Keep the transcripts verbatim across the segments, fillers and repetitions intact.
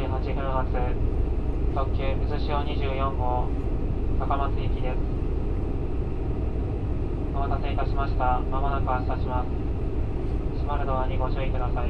じゅうはちふん発特急うずしおにじゅうよん号高松行きです。お待たせいたしました。まもなく発車します。閉まるドアにご注意ください。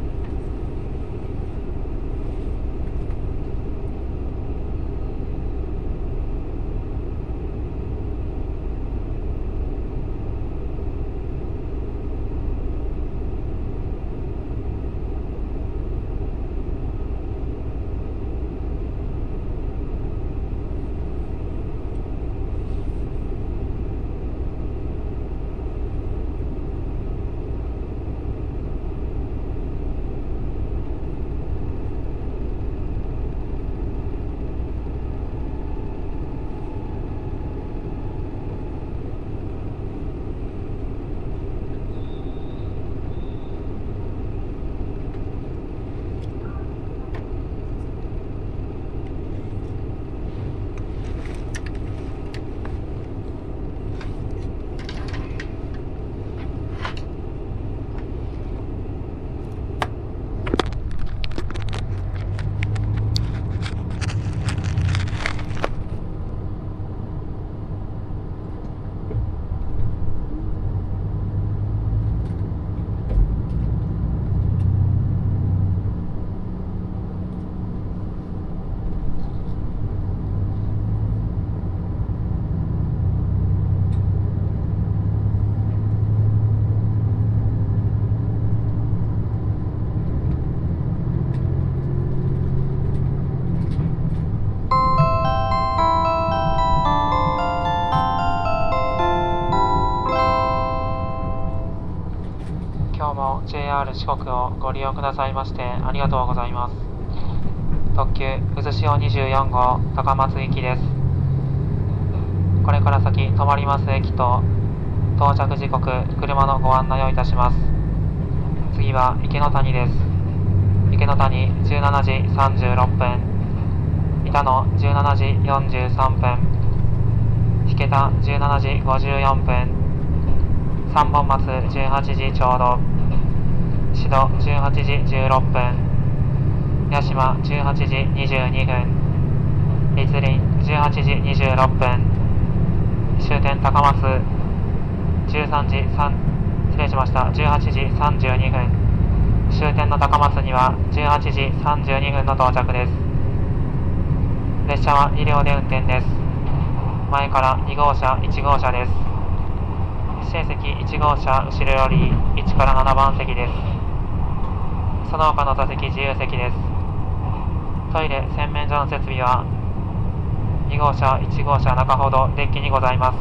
今日も ジェイアール 四国をご利用くださいましてありがとうございます。特急うずしおにじゅうよん号高松行きです。これから先止まります駅と到着時刻、車のご案内をいたします。次は池の谷です。池の谷じゅうしちじさんじゅうろっぷん、板野じゅうしちじよんじゅうさんぷん、引田じゅうしちじごじゅうよんぷん、三本松じゅうはちじちょうど、志度じゅうはちじじゅうろっぷん、八島じゅうはちじにじゅうにふん、栗林じゅうはちじにじゅうろっぷん、終点高松じゅうさんじさん失礼しましたじゅうはちじさんじゅうにふん、終点の高松にはじゅうはちじさんじゅうにふんの到着です。列車はに両で運転です。前からに号車いち号車です。指定席いち号車後ろよりいちからななばん席です。その他の座席自由席です。トイレ洗面所の設備はに号車いち号車中ほどデッキにございます。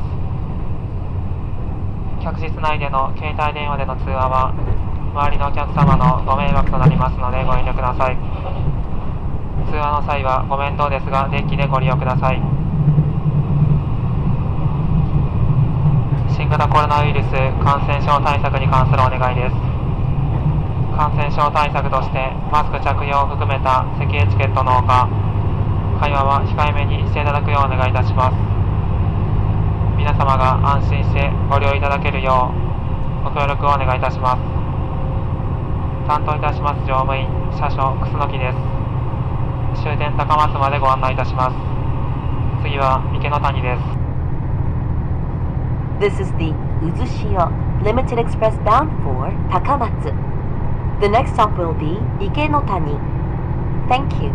客室内での携帯電話での通話は周りのお客様のご迷惑となりますのでご遠慮ください。通話の際はご面倒ですがデッキでご利用ください。新型コロナウイルス感染症対策に関するお願いです。感染症対策としてマスク着用を含めた席エチケットのほか、会話は控えめにしていただくようお願いいたします。皆様が安心してご利用いただけるようご協力をお願いいたします。担当いたします乗務員車掌楠木です。終点高松までご案内いたします。次は池の谷です。 This is the Uzushio Limited Express bound for Takamatsu. The next stop will be Ike-no-Tani. Thank you.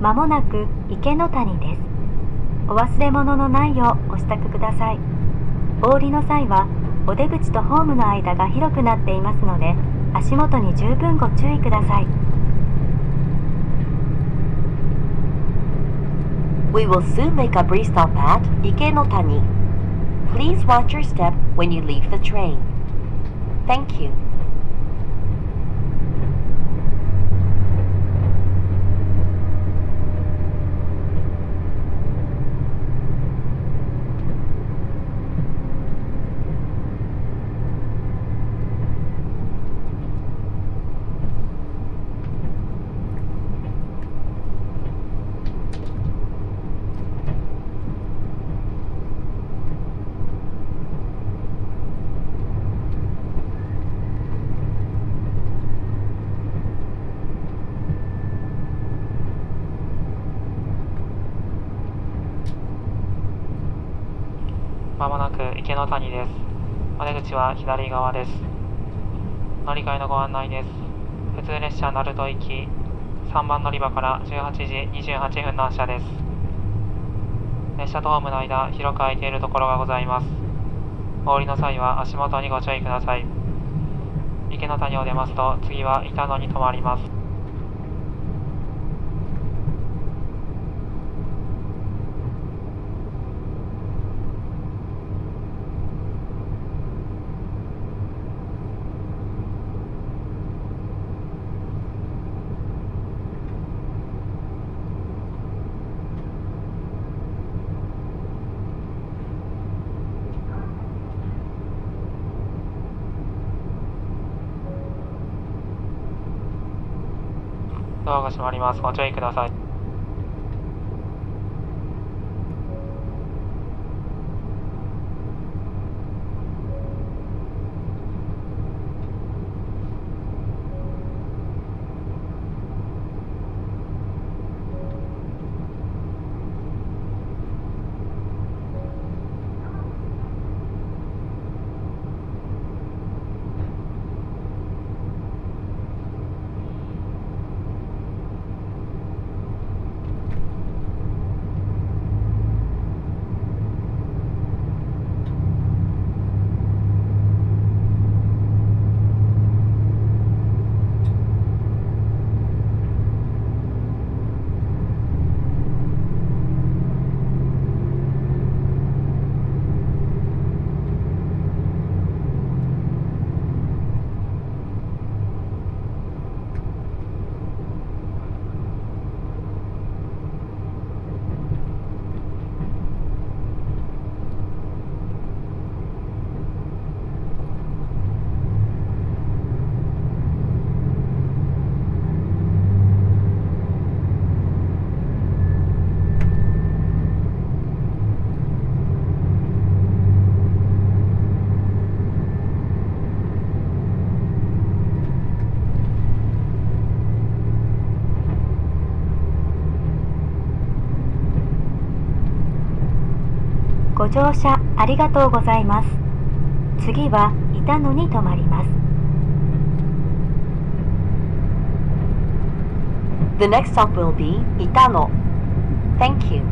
まもなく池の谷です。お忘れ物のないようお支度ください。お降りの際はお出口とホームの間が広くなっていますので、足元に十分ご注意ください。We will soon make a brief stop at Ike-no-Tani. Please watch your step when you leave the train. Thank you. まもなく池の谷です。お出口は左側です。乗り換えのご案内です。普通列車鳴門行きさんばん乗り場からじゅうはちじにじゅうはちふんの発車です。列車とホームの間、広く空いているところがございます。お降りの際は足元にご注意ください。池の谷を出ますと、次は板野に停まります。ドアが閉まります。ご注意ください。ご乗車ありがとうございます。次は板野に停まります。The next stop will be Itano. Thank you.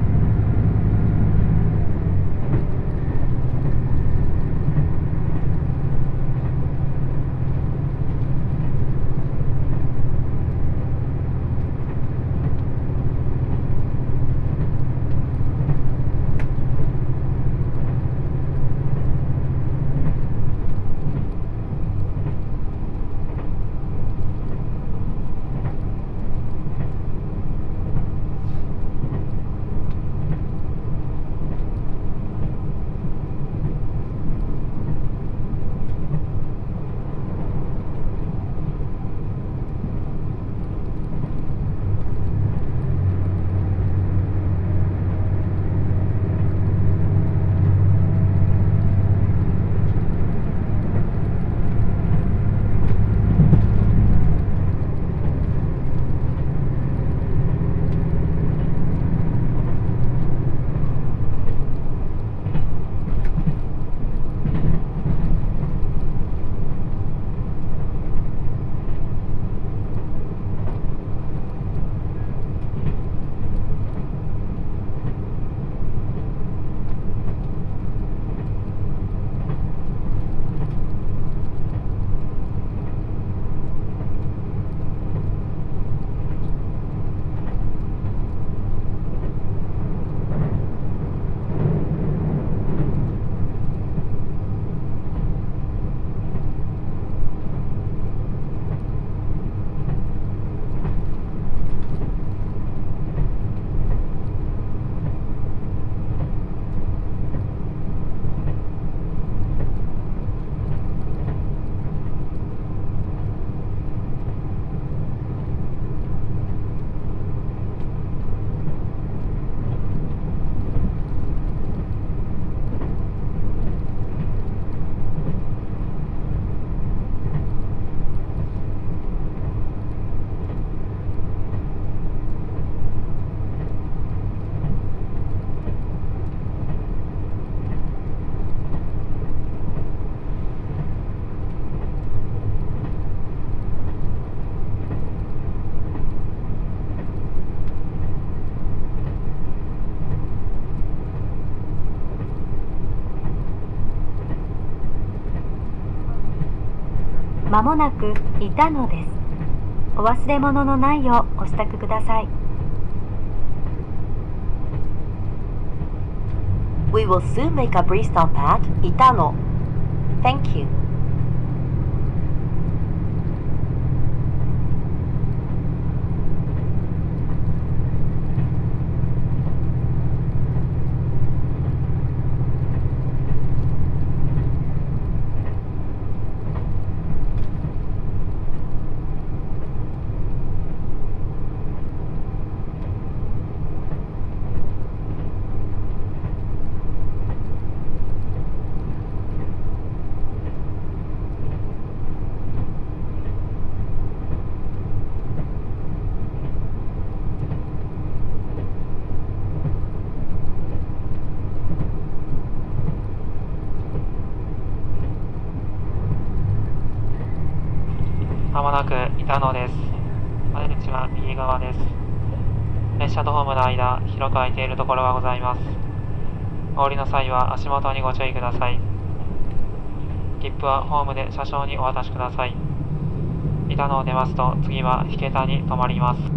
まもなくいたのです。お忘れ物のないようお支度ください。 We will soon make a brief stop at Itano. Thank you. まもなく板野です。出口は右側です。列車とホームの間、広く空いているところがございます。お降りの際は足元にご注意ください。切符はホームで車掌にお渡しください。板野を出ますと、次は引田に停まります。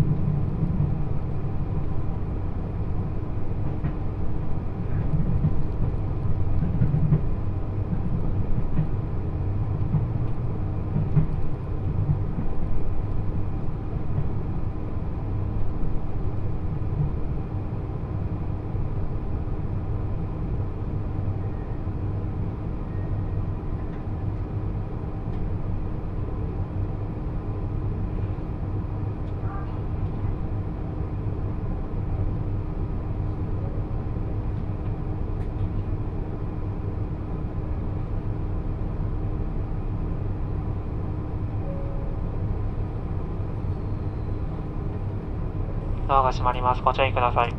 ドアが閉まります。ご注意ください。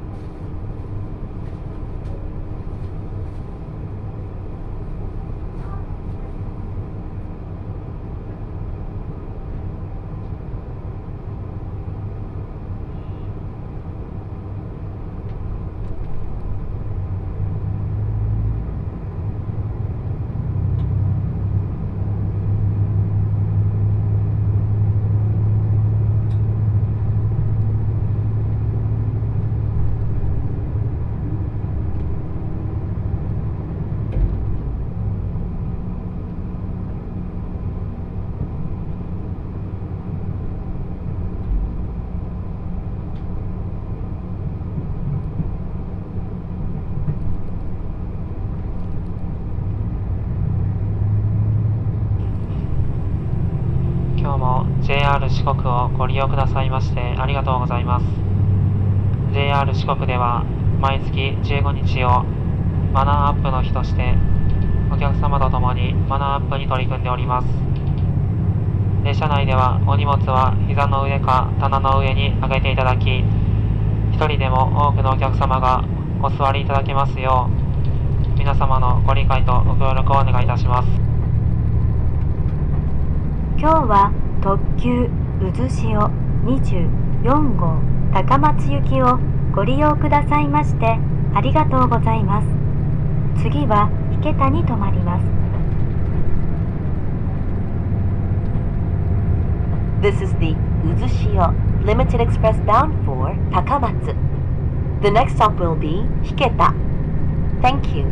今日も ジェイアール 四国をご利用くださいましてありがとうございます。 ジェイアール 四国では毎月じゅうごにちをマナーアップの日としてお客様と共にマナーアップに取り組んでおります。列車内ではお荷物は膝の上か棚の上に上げていただき、一人でも多くのお客様がお座りいただけますよう皆様のご理解とご協力をお願いいたします。 今日は特急うずしおにじゅうよんごう高松行きをご利用くださいましてありがとうございます。次は引田に停まります。 This is the Uzushio Limited Express bound for Takamatsu. The next stop will be Hiketa. Thank you.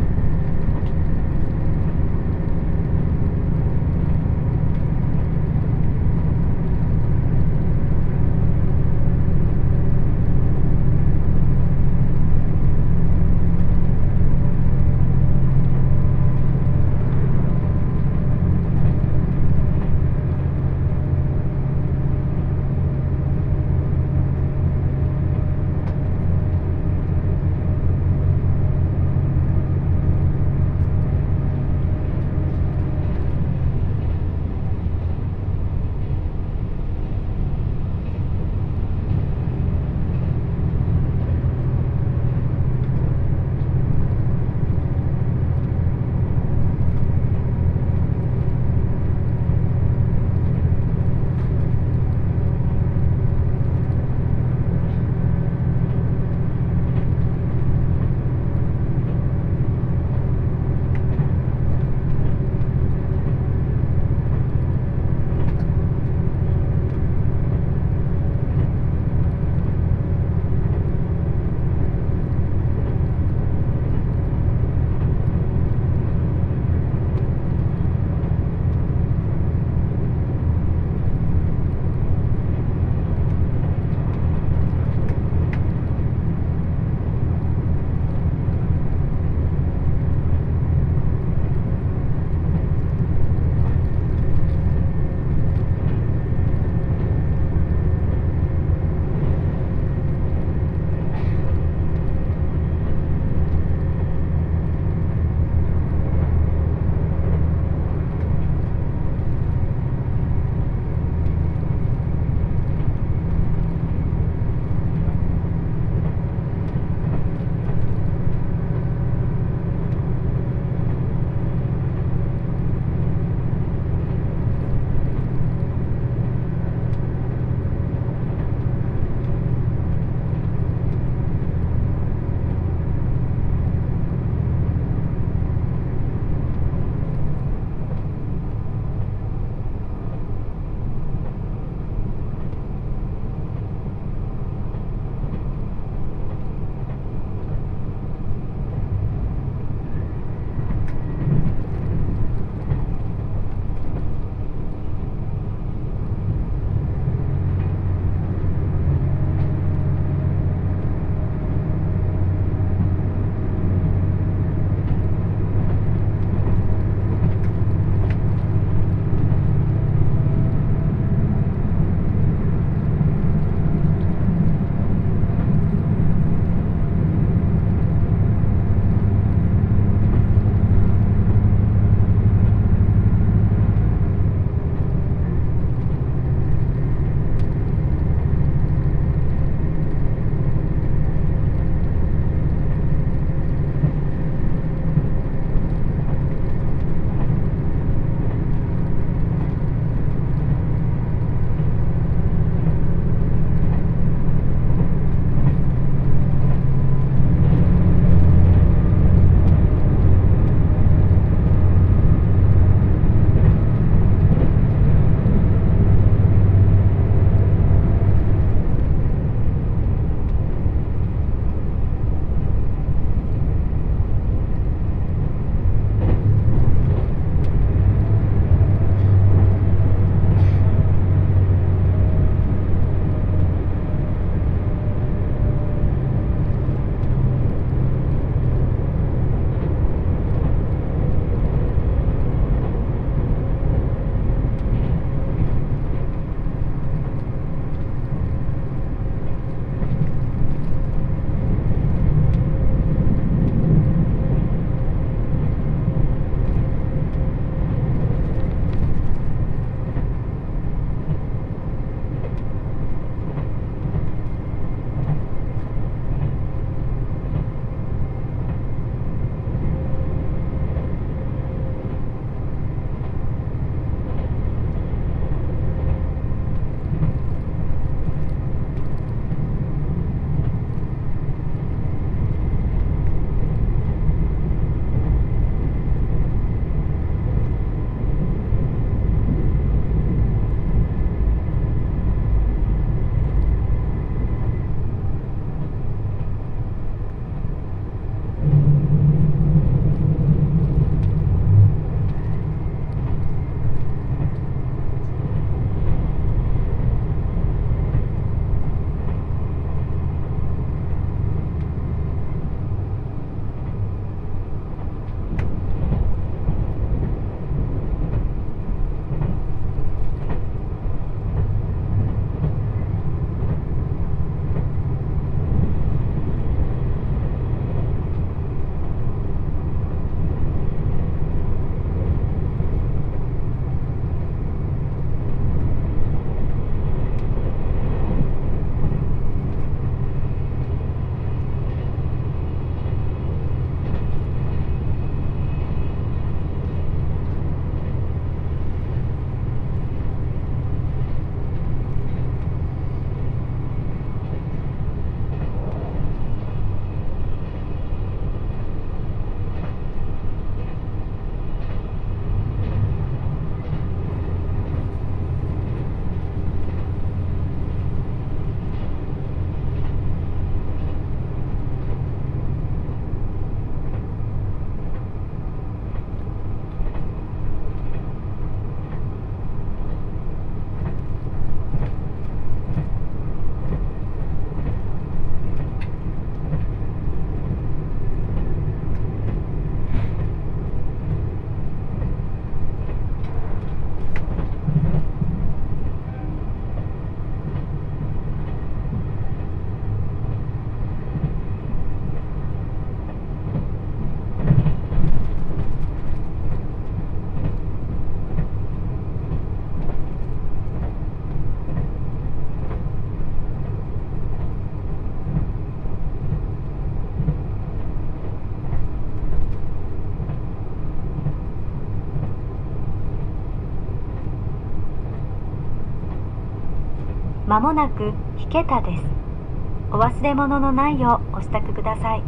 まもなく引田です。お忘れ物のないようお支度ください。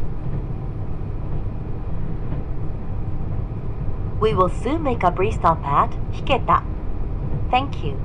We will soon make a brief stop at Hiketa. Thank you.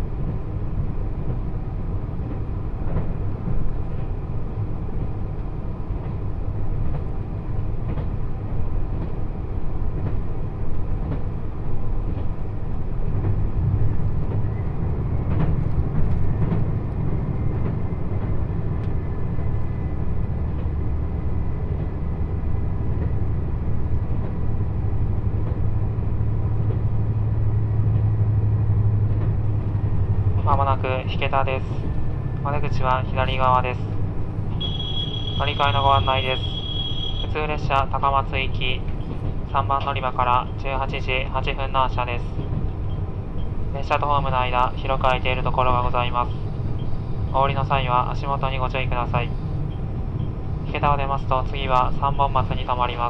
まもなく引田です。お出口は左側です。乗り換えのご案内です。普通列車高松行きさんばん乗り場からじゅうはちじはっぷんの発車です。列車とホームの間、広く空いているところがございます。お降りの際は足元にご注意ください。引田を出ますと次はさんぼん松に停まります。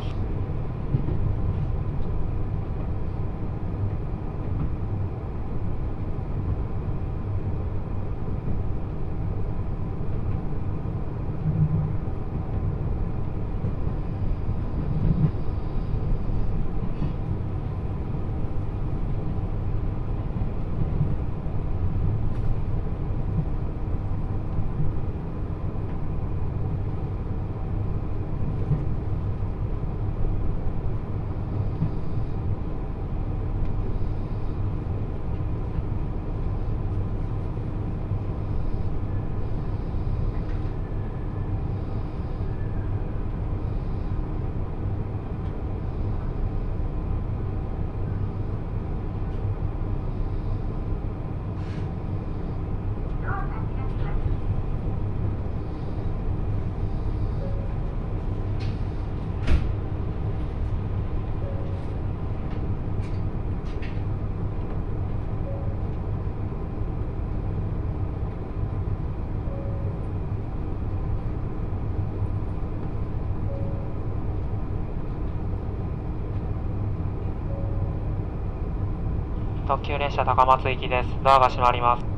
特急列車高松行きです。ドアが閉まります。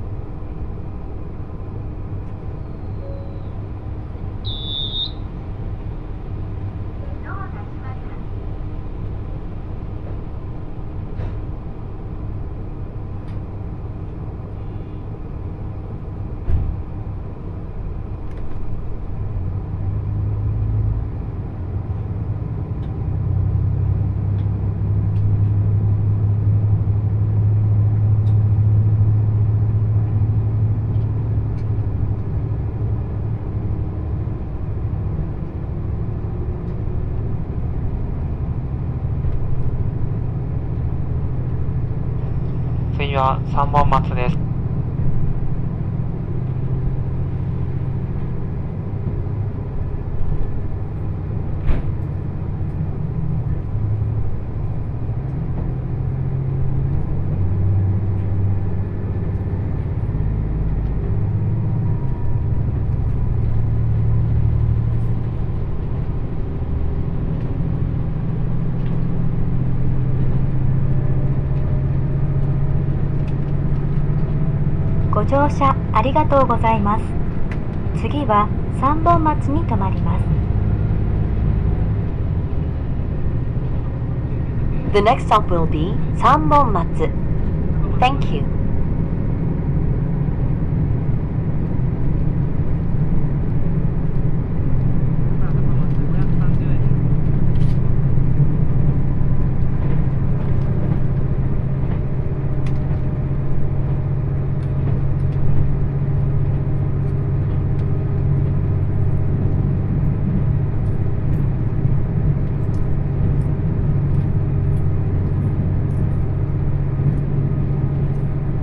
次はさんぼん松です。 ご乗車ありがとうございます。次はさんぼん松に停まります。 The next stop will be 三本松. Thank you. ご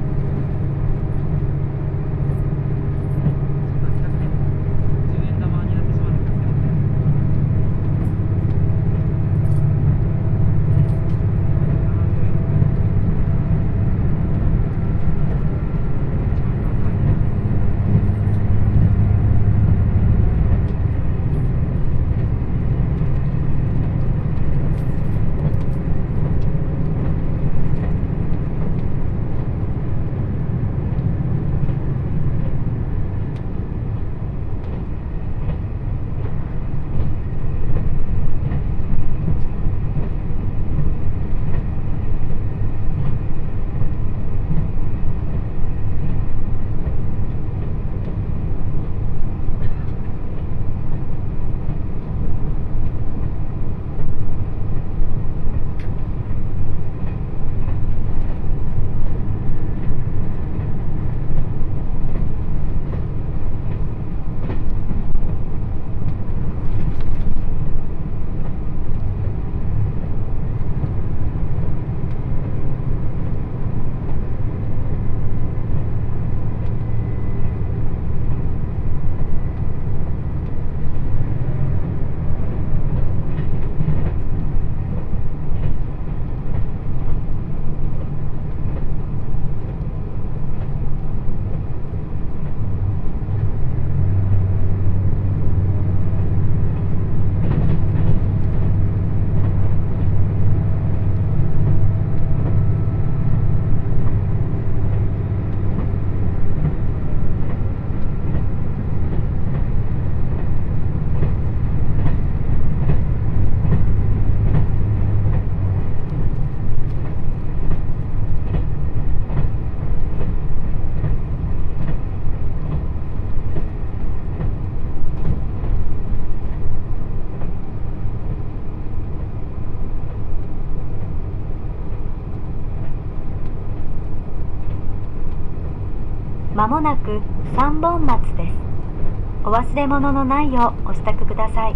まもなくさんぼん松です。お忘れ物のないようお支度ください。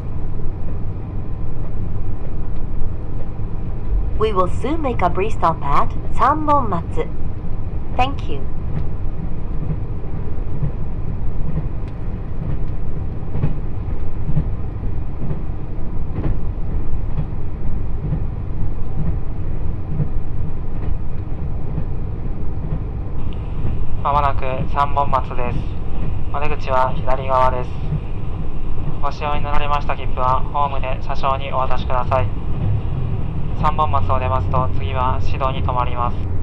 We will soon make a brief stop at 三本松. Thank you. まもなくさんぼん松です。お出口は左側です。ご使用になられました切符はホームで車掌にお渡しください。さんぼん松を出ますと次は指導に停まります。